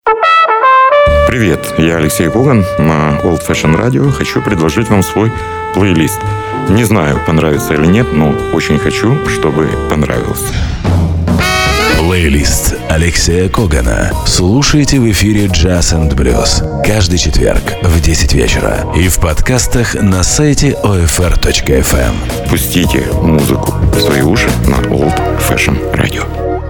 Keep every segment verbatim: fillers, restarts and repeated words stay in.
Привет, я Алексей Коган на Old Fashion Radio. Хочу предложить вам свой плейлист. Не знаю, понравится или нет, но очень хочу, чтобы понравился. Плейлист Алексея Когана. Слушайте в эфире Jazz энд Blues каждый четверг в десять вечера и в подкастах на сайте о эф эр точка эф эм. Пустите музыку в свои уши на Old Fashion Radio.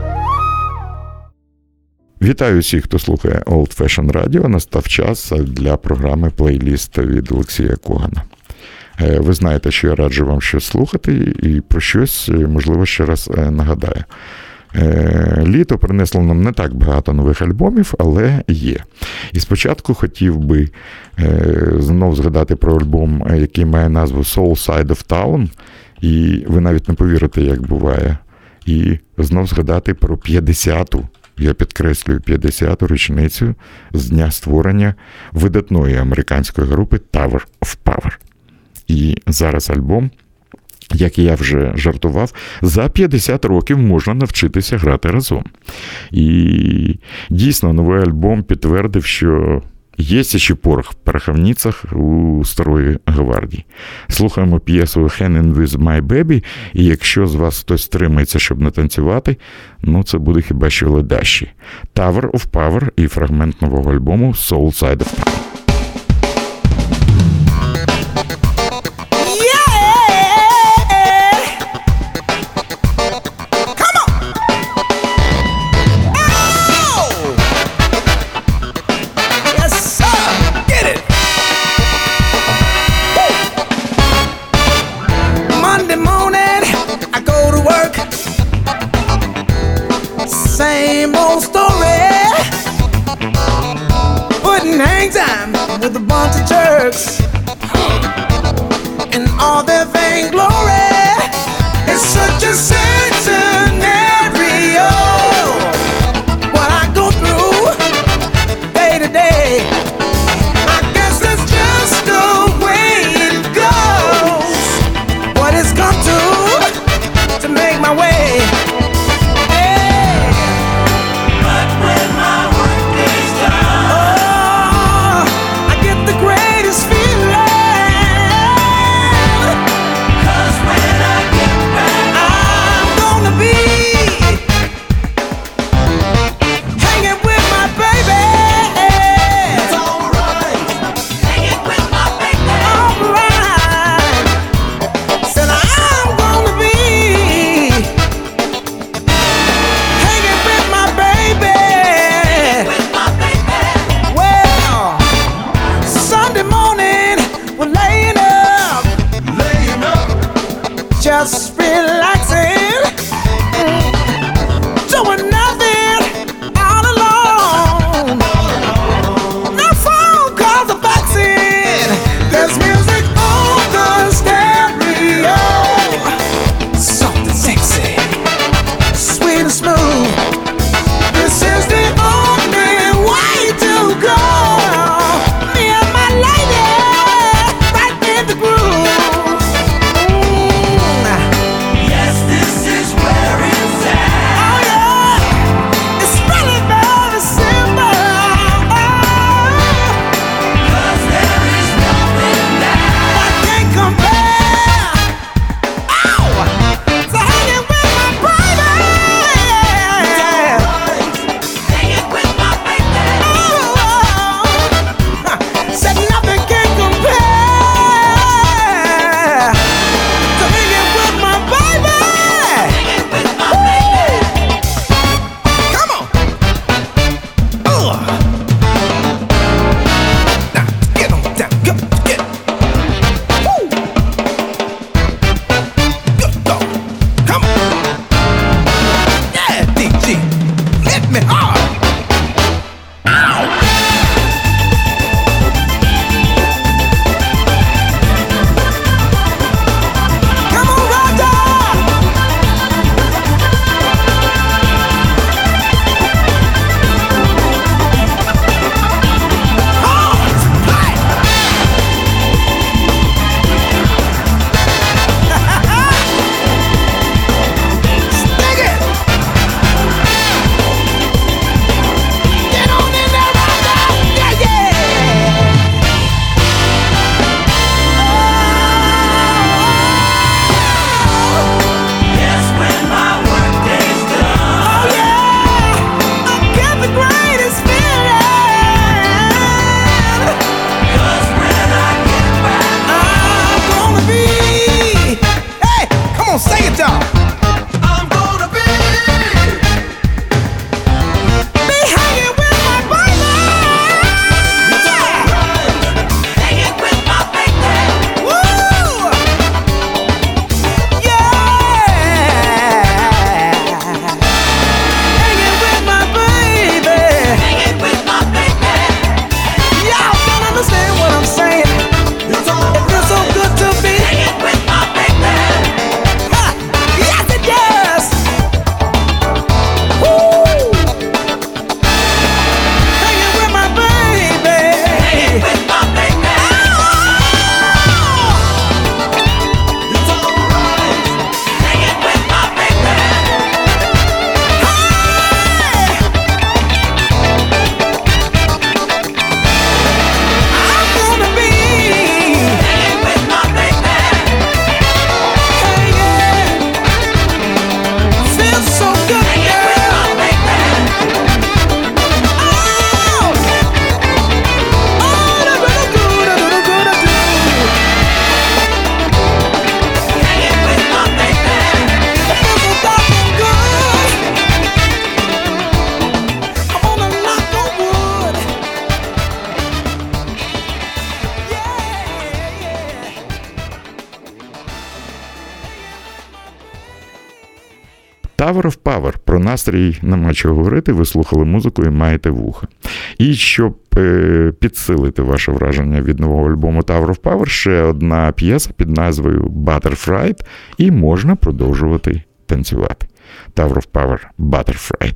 Вітаю всіх, хто слухає Old Fashion Radio. Настав час для програми плейліст від Олексія Когана. Ви знаєте, що я раджу вам щось слухати і про щось, можливо, ще раз нагадаю. Літо принесло нам не так багато нових альбомів, але є. І спочатку хотів би знов згадати про альбом, який має назву Soul Side of Town, і ви навіть не повірите, як буває. І знов згадати про п'ятдесяту, я підкреслюю, п'ятдесяту річницю з дня створення видатної американської групи Tower of Power. І зараз альбом, як я вже жартував, за п'ятдесят років можна навчитися грати разом. І дійсно новий альбом підтвердив, що є ще порох в пороховницях у старої гвардії. Слухаємо п'єсу «Hanging with My Baby», і якщо з вас хтось стримається, щоб не танцювати, ну це буде хіба що ледащі. Tower of Power і фрагмент нового альбому «Soul Side of Town». Same old story, putting hang time with a bunch of jerks, and all their vainglory is such a sad scenario. What I go through day to day, I guess it's just the way it goes. What it's come to to make my way. Be Tower of Power. Про настрій нема чого говорити, ви слухали музику і маєте вуха. І щоб е, підсилити ваше враження від нового альбому Tower of Power, ще одна п'єса під назвою Butterfly, і можна продовжувати танцювати. Tower of Power, Butterfly.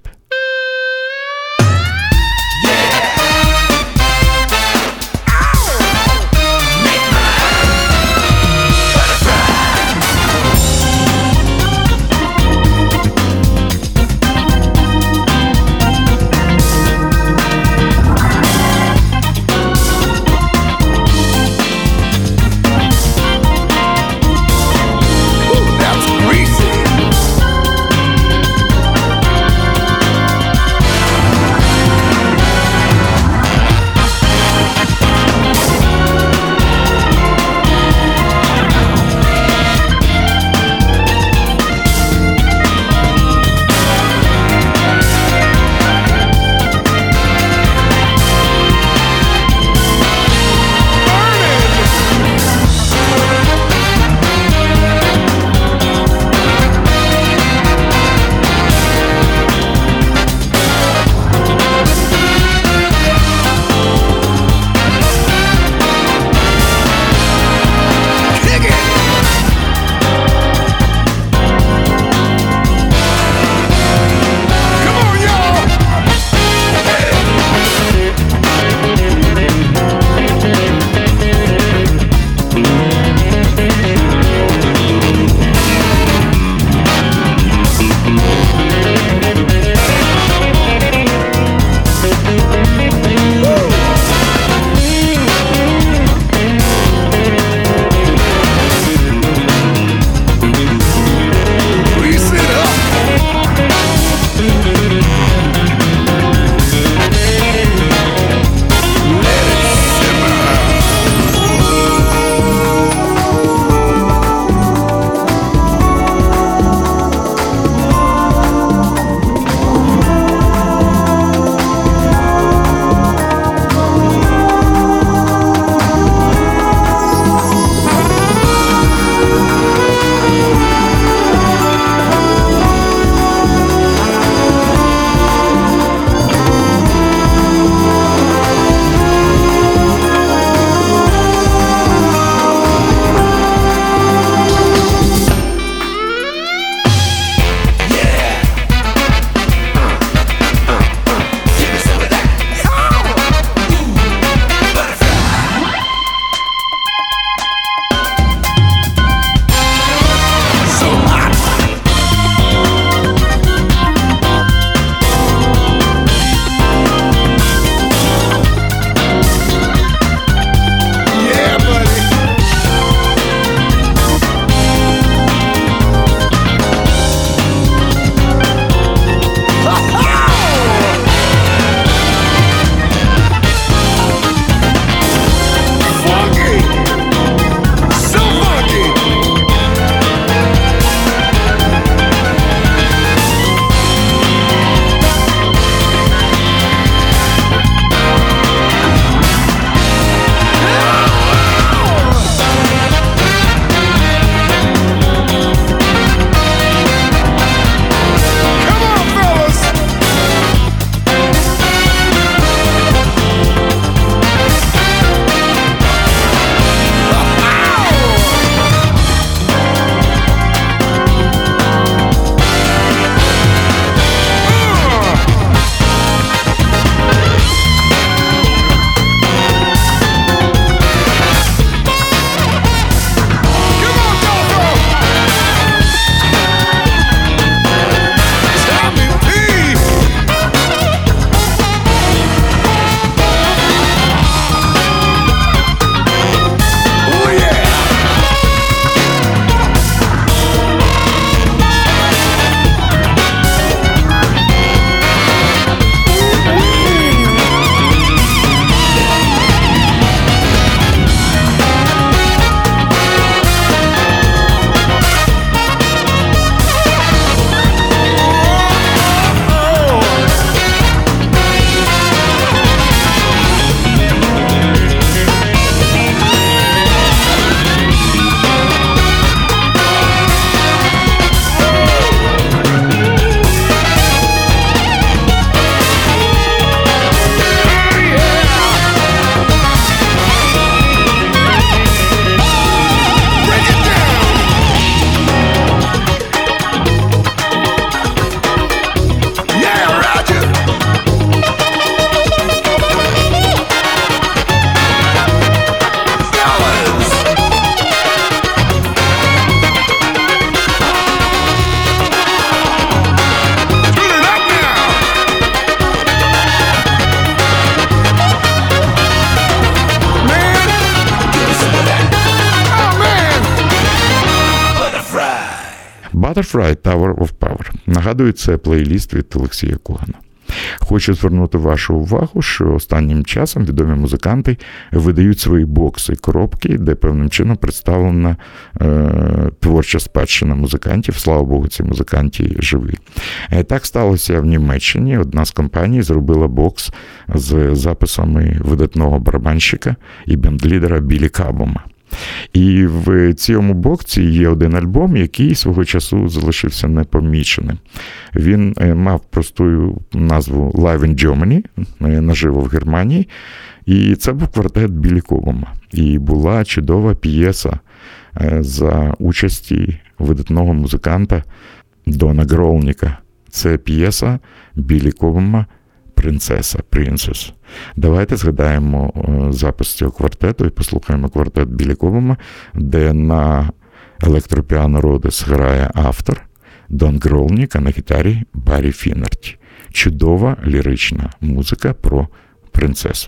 Butterfly Tower of Power. Нагадую, це плейліст від Олексія Когана. Хочу звернути вашу увагу, що останнім часом відомі музиканти видають свої бокси, коробки, де певним чином представлена е, творча спадщина музикантів. Слава Богу, ці музиканти живі. Е, так сталося в Німеччині. Одна з компаній зробила бокс з записами видатного барабанщика і бендлідера Білі Кабома. І в цьому боксі є один альбом, який свого часу залишився непоміченим. Він мав просту назву Live in Germany, наживо в Германії, і це був квартет Білі Кобома. І була чудова п'єса за участі видатного музиканта Дона Гролніка. Це п'єса Білі Кобома «Принцеса», «Princess». Давайте згадаємо запис цього квартету і послухаємо квартет Білі Кобома, де на електропіано Родес грає автор Дон Гролнік, а на гітарі Баррі Фіннерті. Чудова лірична музика про принцесу.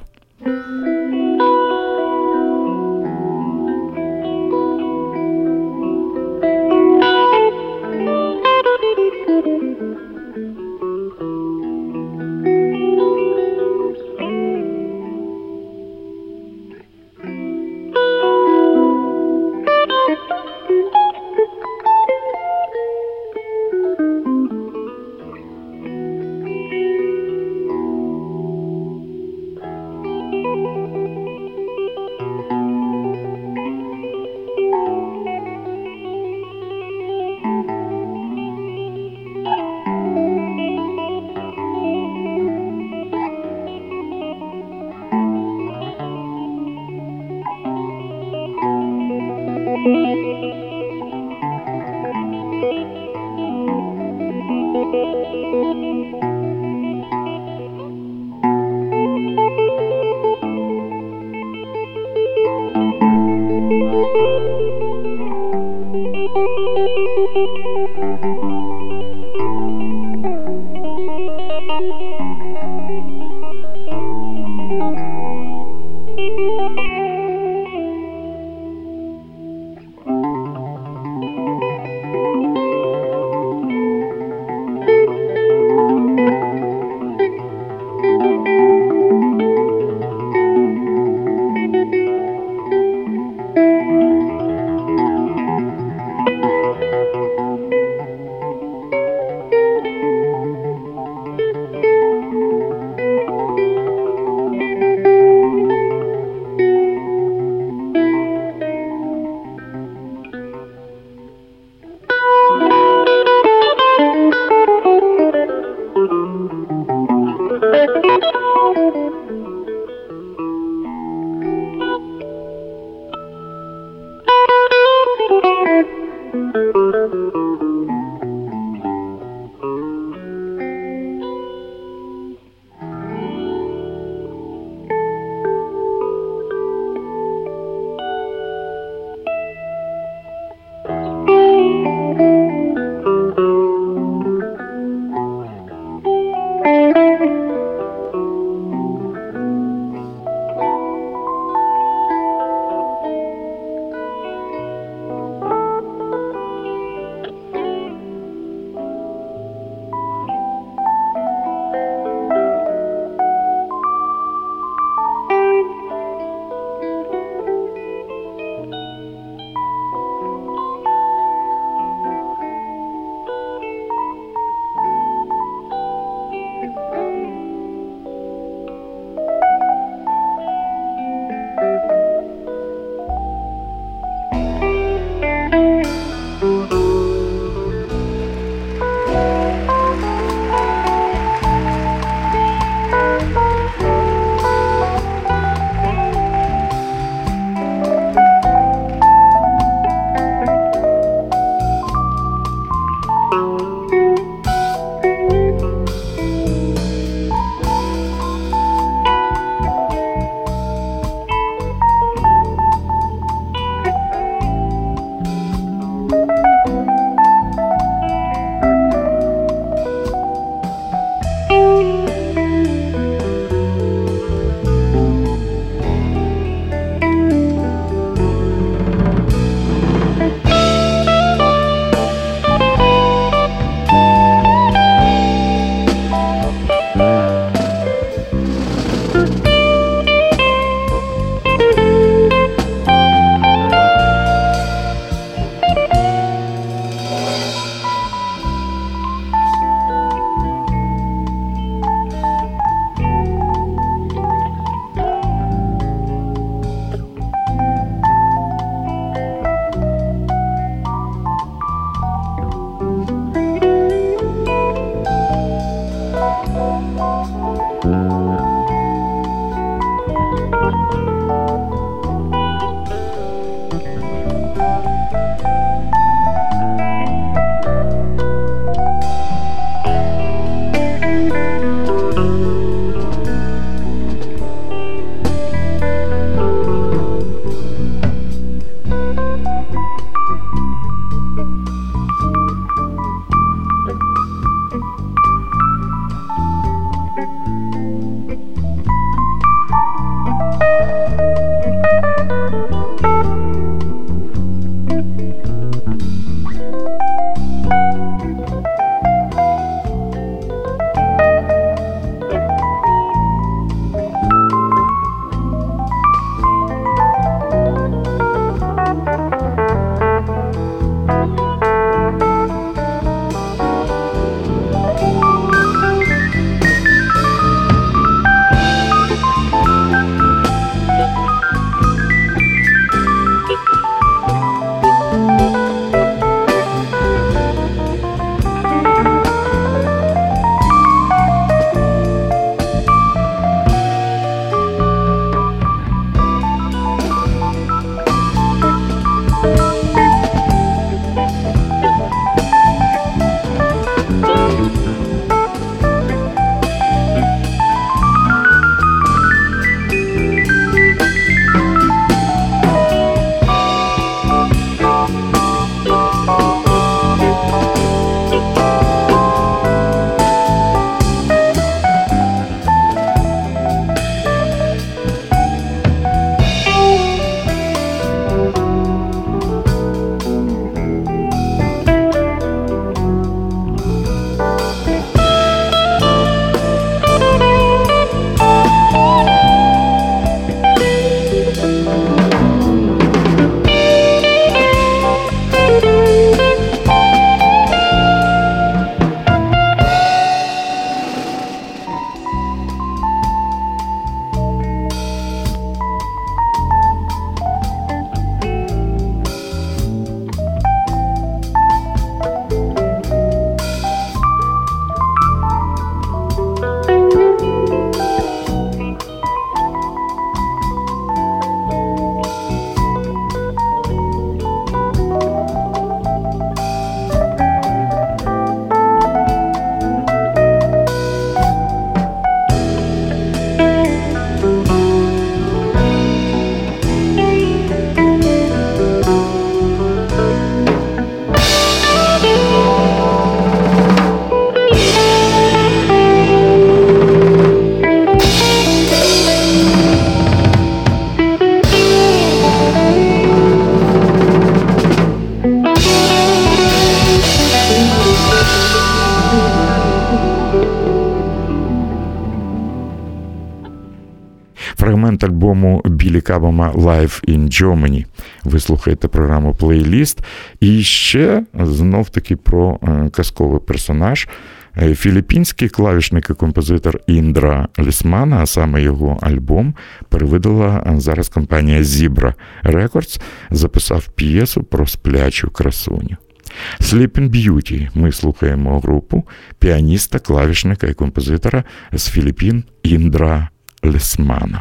фрагмент альбому Білі Кабама «Live in Germany». Ви слухаєте програму «Плейліст». І ще, знов-таки, про казковий персонаж. Філіппінський клавішник і композитор Індра Лісмана, а саме його альбом, перевидала зараз компанія Zebra Records, записав п'єсу про сплячу красуню. Sleeping Beauty ми слухаємо групу піаніста, клавішника і композитора з Філіппін Індра Лісмана.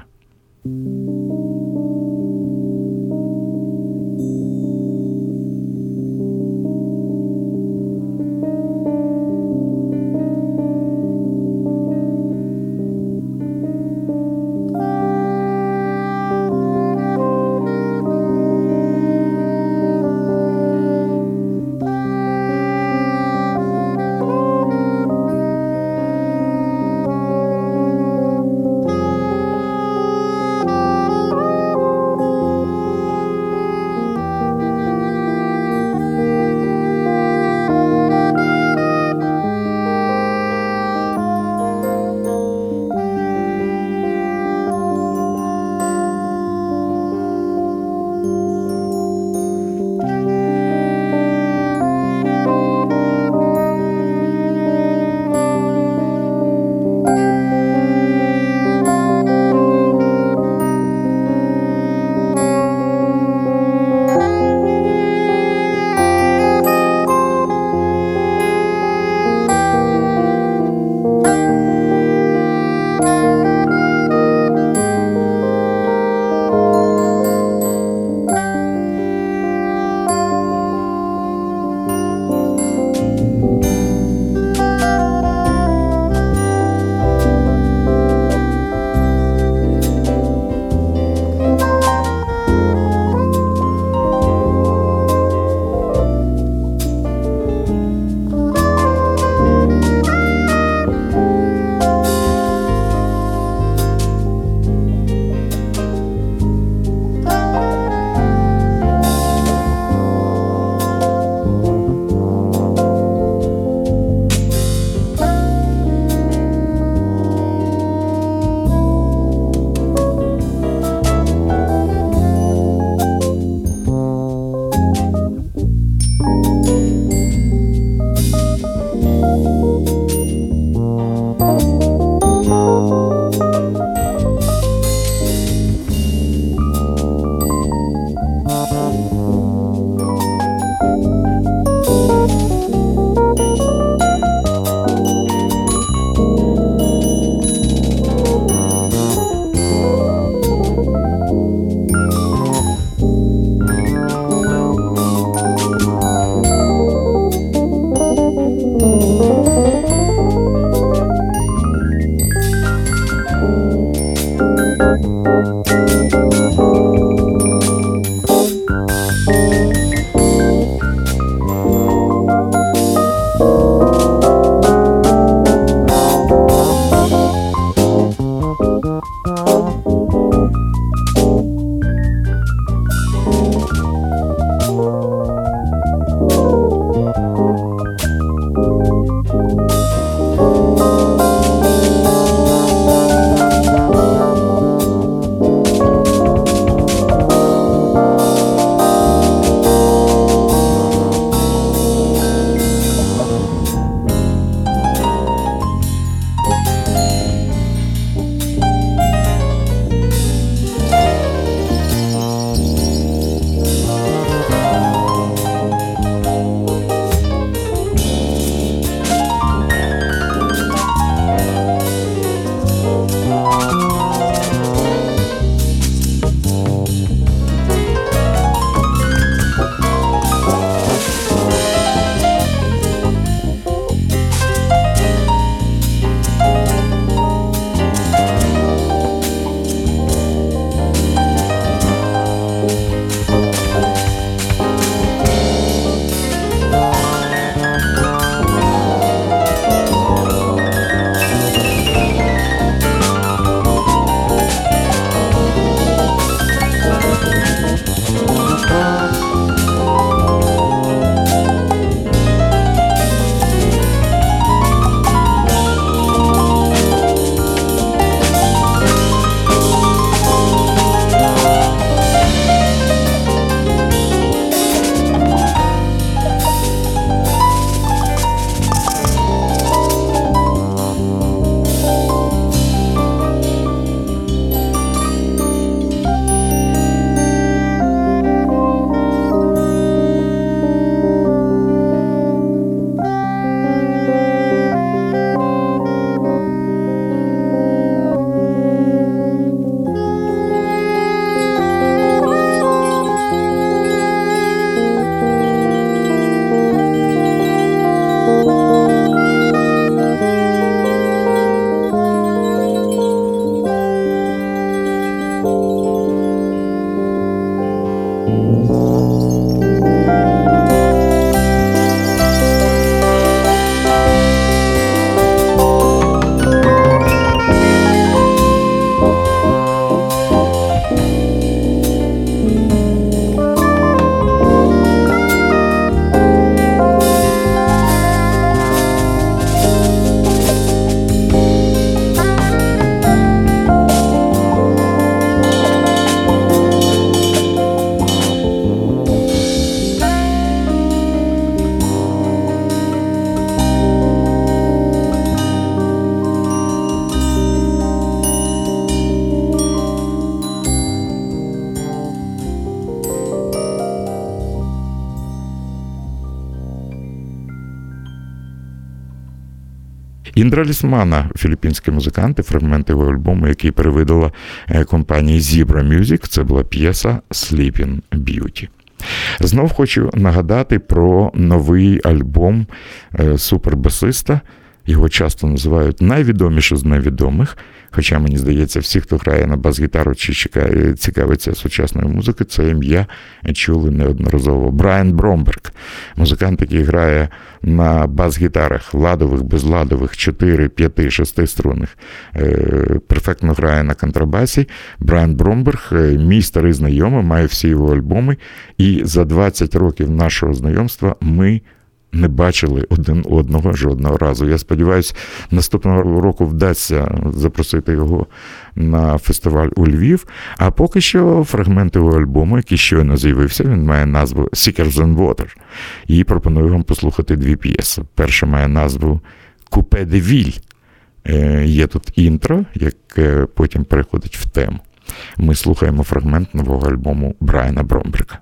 Індра Лісмана, філіппінські музиканти, фрагмент його альбому, який перевидала компанія Zebra Music, це була п'єса «Sleeping Beauty». Знов хочу нагадати про новий альбом супербасиста. Його часто називають найвідомішим з невідомих, хоча, мені здається, всі, хто грає на бас-гітару чи цікавиться сучасною музикою, це ім'я чули неодноразово. Брайан Бромберг, музикант, який грає на бас-гітарах, ладових, безладових, чотири, п'ять, шести струнних, перфектно грає на контрабасі. Брайан Бромберг, мій старий знайомий, має всі його альбоми, і за двадцять років нашого знайомства ми не бачили один одного жодного разу. Я сподіваюся, наступного року вдасться запросити його на фестиваль у Львів. А поки що фрагмент його альбому, який щойно з'явився, він має назву «Seekers and Water». І пропоную вам послухати дві п'єси. Перша має назву «Coupé de Ville». Є тут інтро, яке потім переходить в тему. Ми слухаємо фрагмент нового альбому Брайана Бромберга.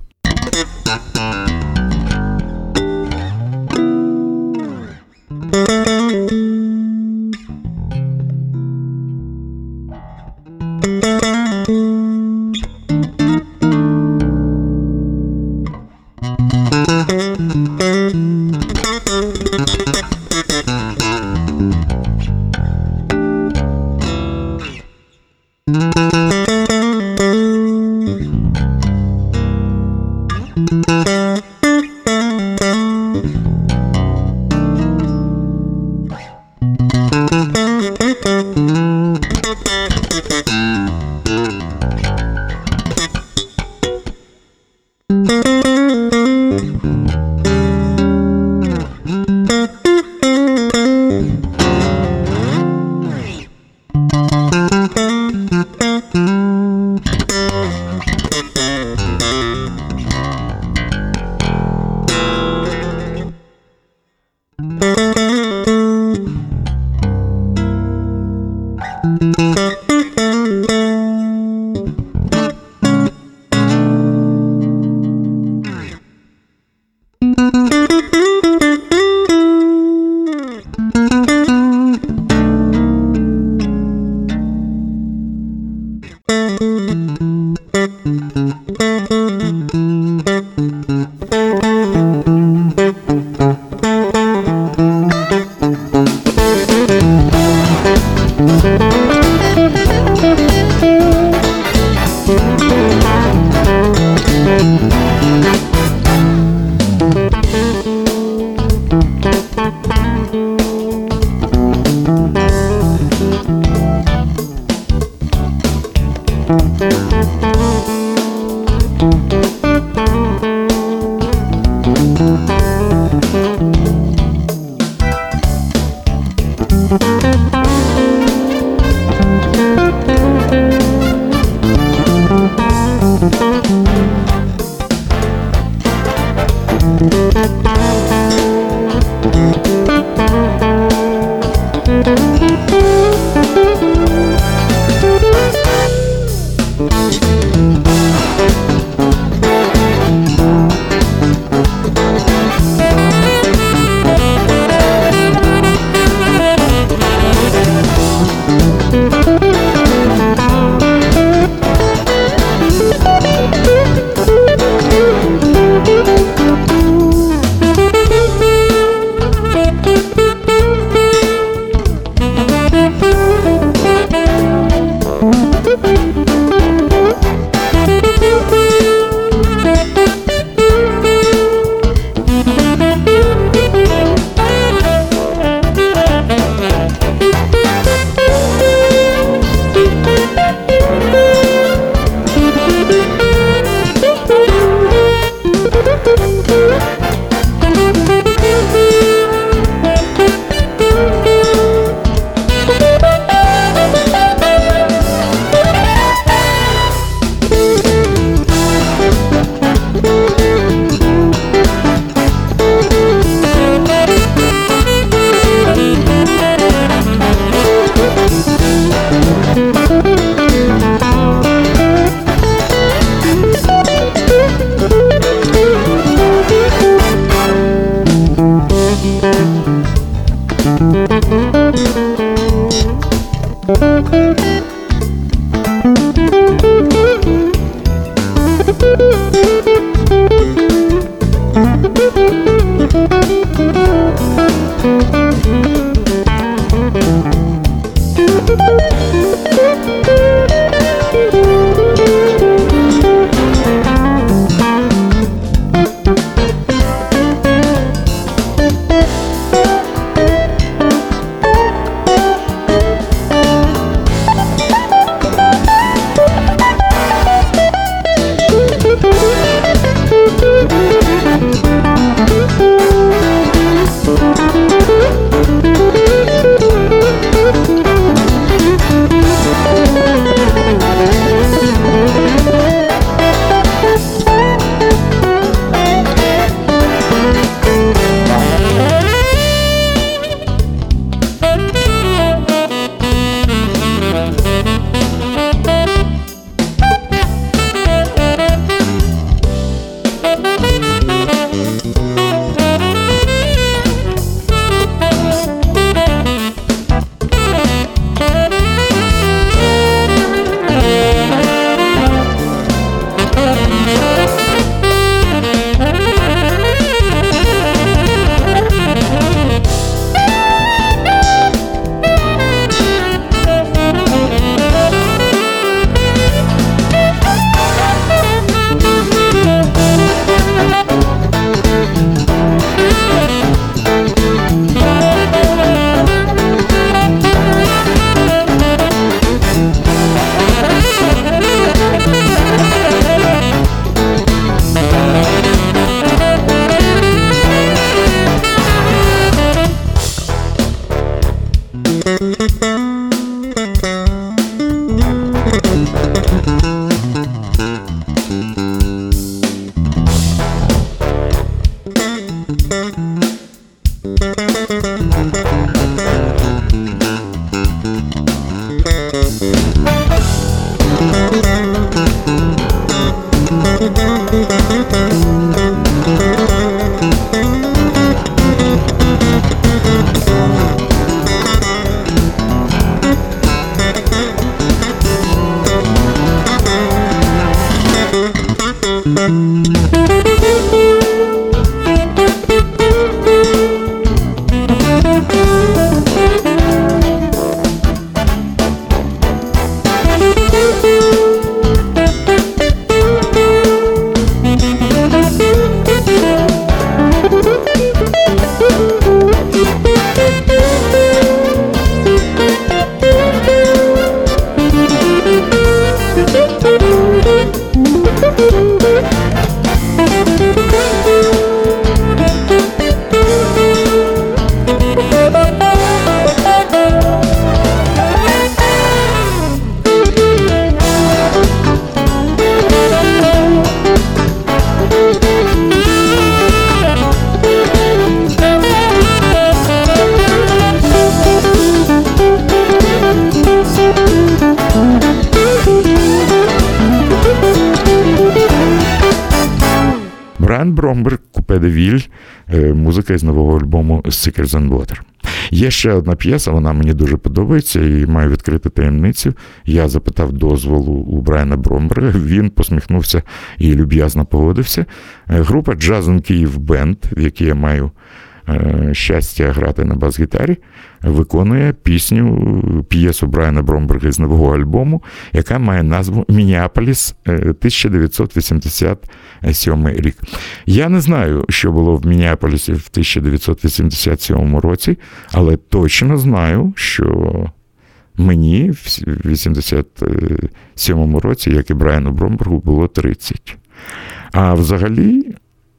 Брайан Бромберг, Купе де Віль, музика із нового альбому Thicker Than Water. Є ще одна п'єса, вона мені дуже подобається і маю відкрити таємницю. Я запитав дозволу у Брайана Бромберга, він посміхнувся і люб'язно погодився. Група Jazz in Kyiv Band, в якій я маю щастя грати на бас-гітарі, виконує пісню, п'єсу Брайана Бромберга з нового альбому, яка має назву «Міннеаполіс, тисяча дев'ятсот вісімдесят сьомий рік». Я не знаю, що було в Міннеаполісі в тисяча дев'ятсот вісімдесят сьомому році, але точно знаю, що мені в вісімдесят сьомому році, як і Брайану Бромбергу, було тридцять. А взагалі,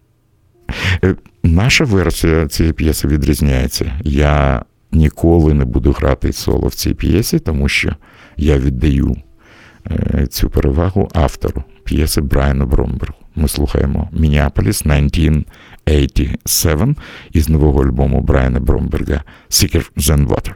наша версія цієї п'єси відрізняється. Я ніколи не буду грати соло в цій п'єсі, тому що я віддаю цю перевагу автору п'єси Брайану Бромбергу. Ми слухаємо «Міннеаполіс тисяча дев'ятсот вісімдесят сім» із нового альбому Брайана Бромберга «Thicker Than Water».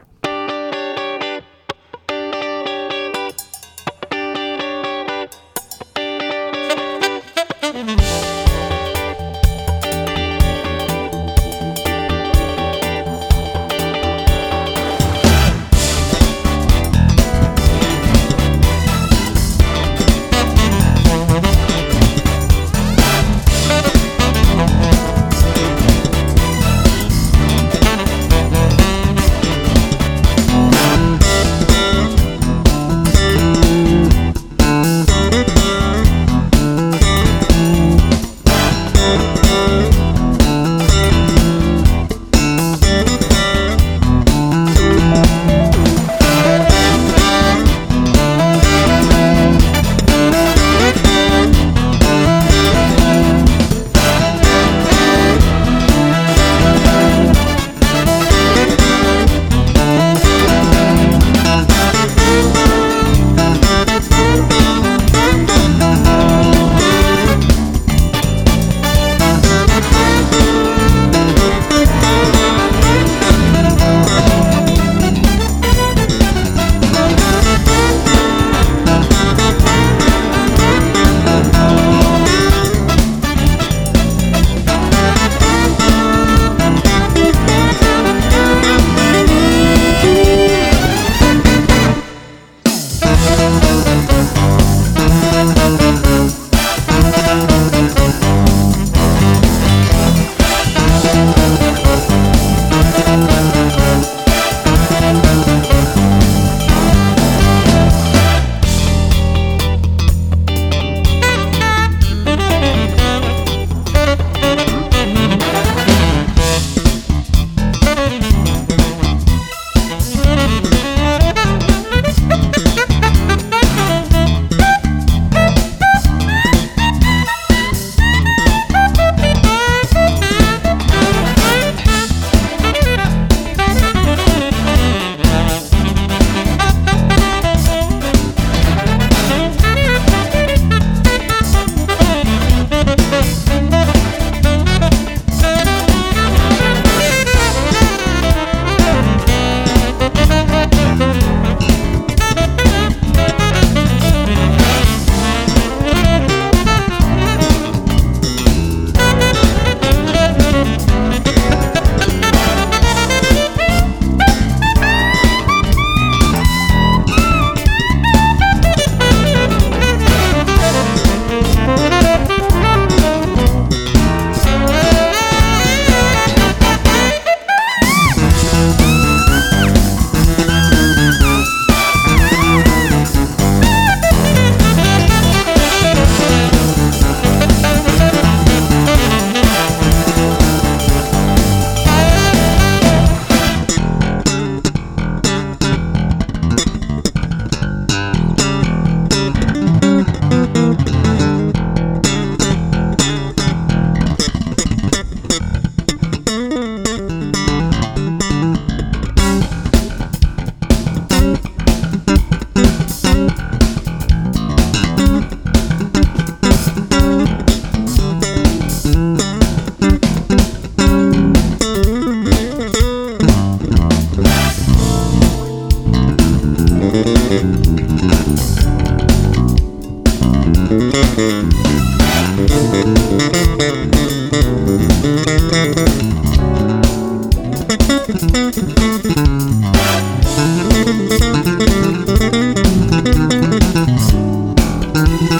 Thank you.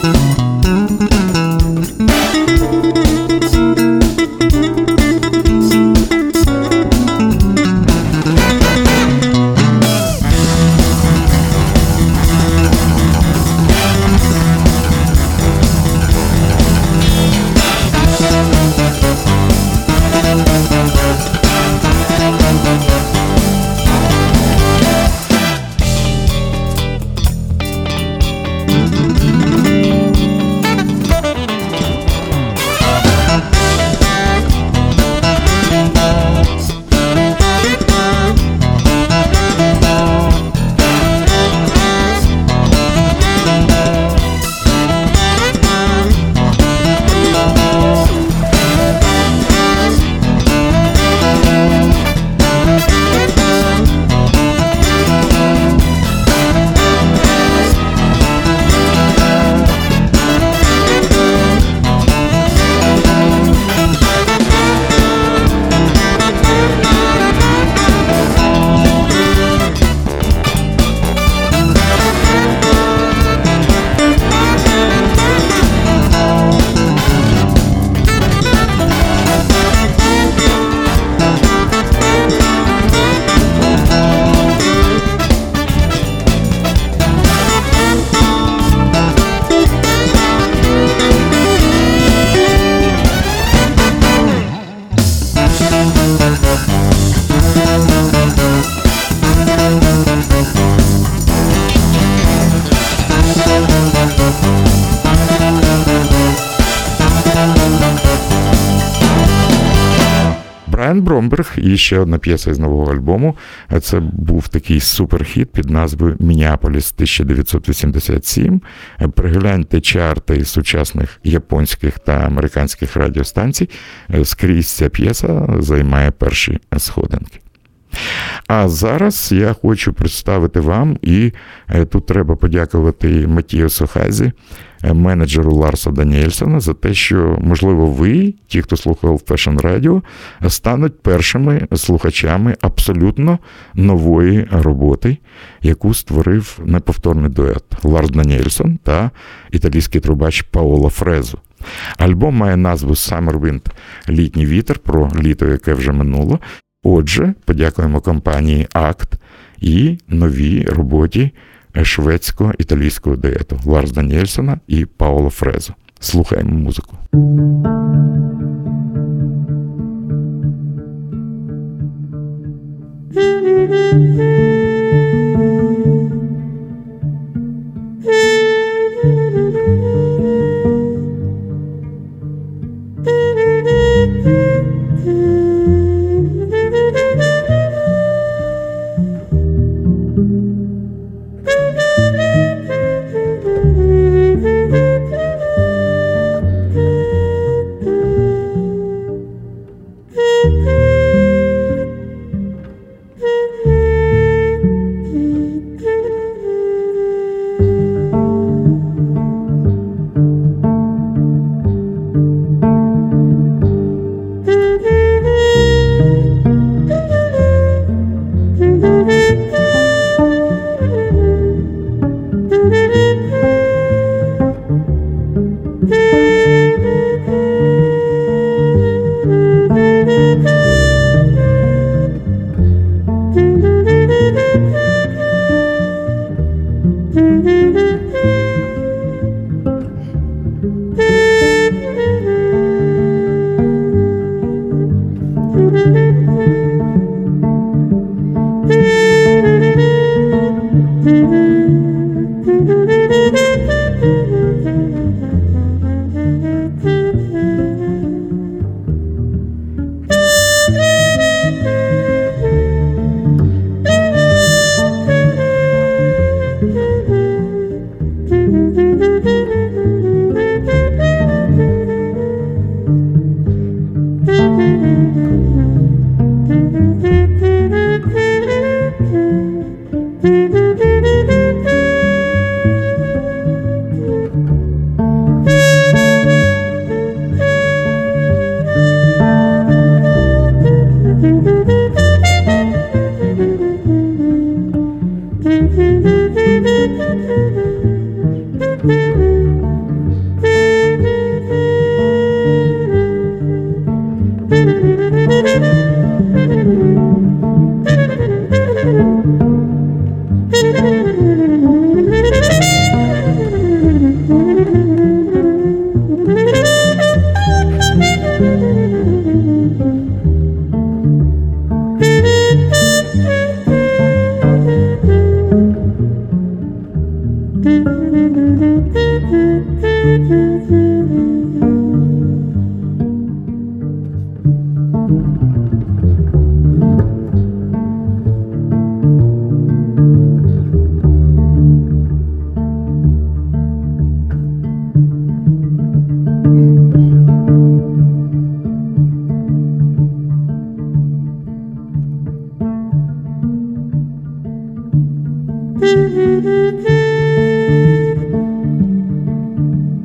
Брайан Бромберг і ще одна п'єса із нового альбому. Це був такий суперхіт під назвою «Міннеаполіс тисяча дев'ятсот вісімдесят сім». Пригляньте чарти сучасних японських та американських радіостанцій. Скрізь ця п'єса займає перші сходинки. А зараз я хочу представити вам, і тут треба подякувати Матіасу Хазі, менеджеру Ларса Даніельсона, за те, що, можливо, ви, ті, хто слухає Old Fashion Radio, стануть першими слухачами абсолютно нової роботи, яку створив неповторний дует Ларс Даніельсон та італійський трубач Паоло Фрезо. Альбом має назву «Summer Wind» – «Літній вітер», про літо, яке вже минуло. Отже, подякуємо компанії «Акт» і новій роботі шведсько-італійського дуету Ларс Даніельсона і Паоло Фрезо. Слухаємо музику. Thank you.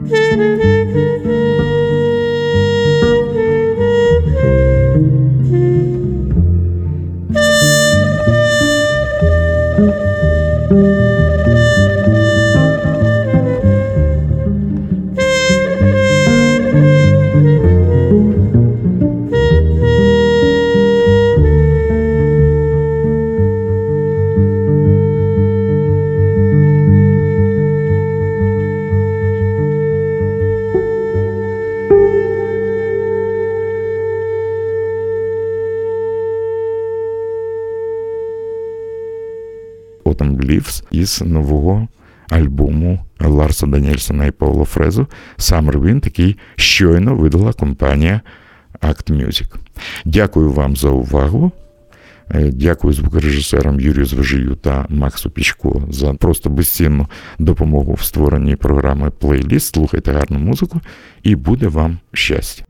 Autumn Leaves із нового альбому Ларса Даніельсона і Пауло Фрезо Summer Wind, який щойно видала компанія Act Music. Дякую вам за увагу. Дякую звукорежисерам Юрію Звежию та Максу Пічко за просто безцінну допомогу в створенні програми «Плейліст». Слухайте гарну музику і буде вам щастя.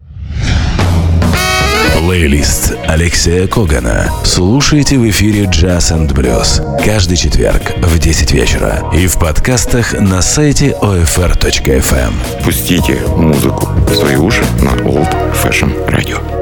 Плейлист Алексея Когана. Слушайте в эфире Jazz энд Blues каждый четверг в десять вечера и в подкастах на сайте о эф эр точка эф эм. Пустите музыку в свои уши на Old Fashion Radio.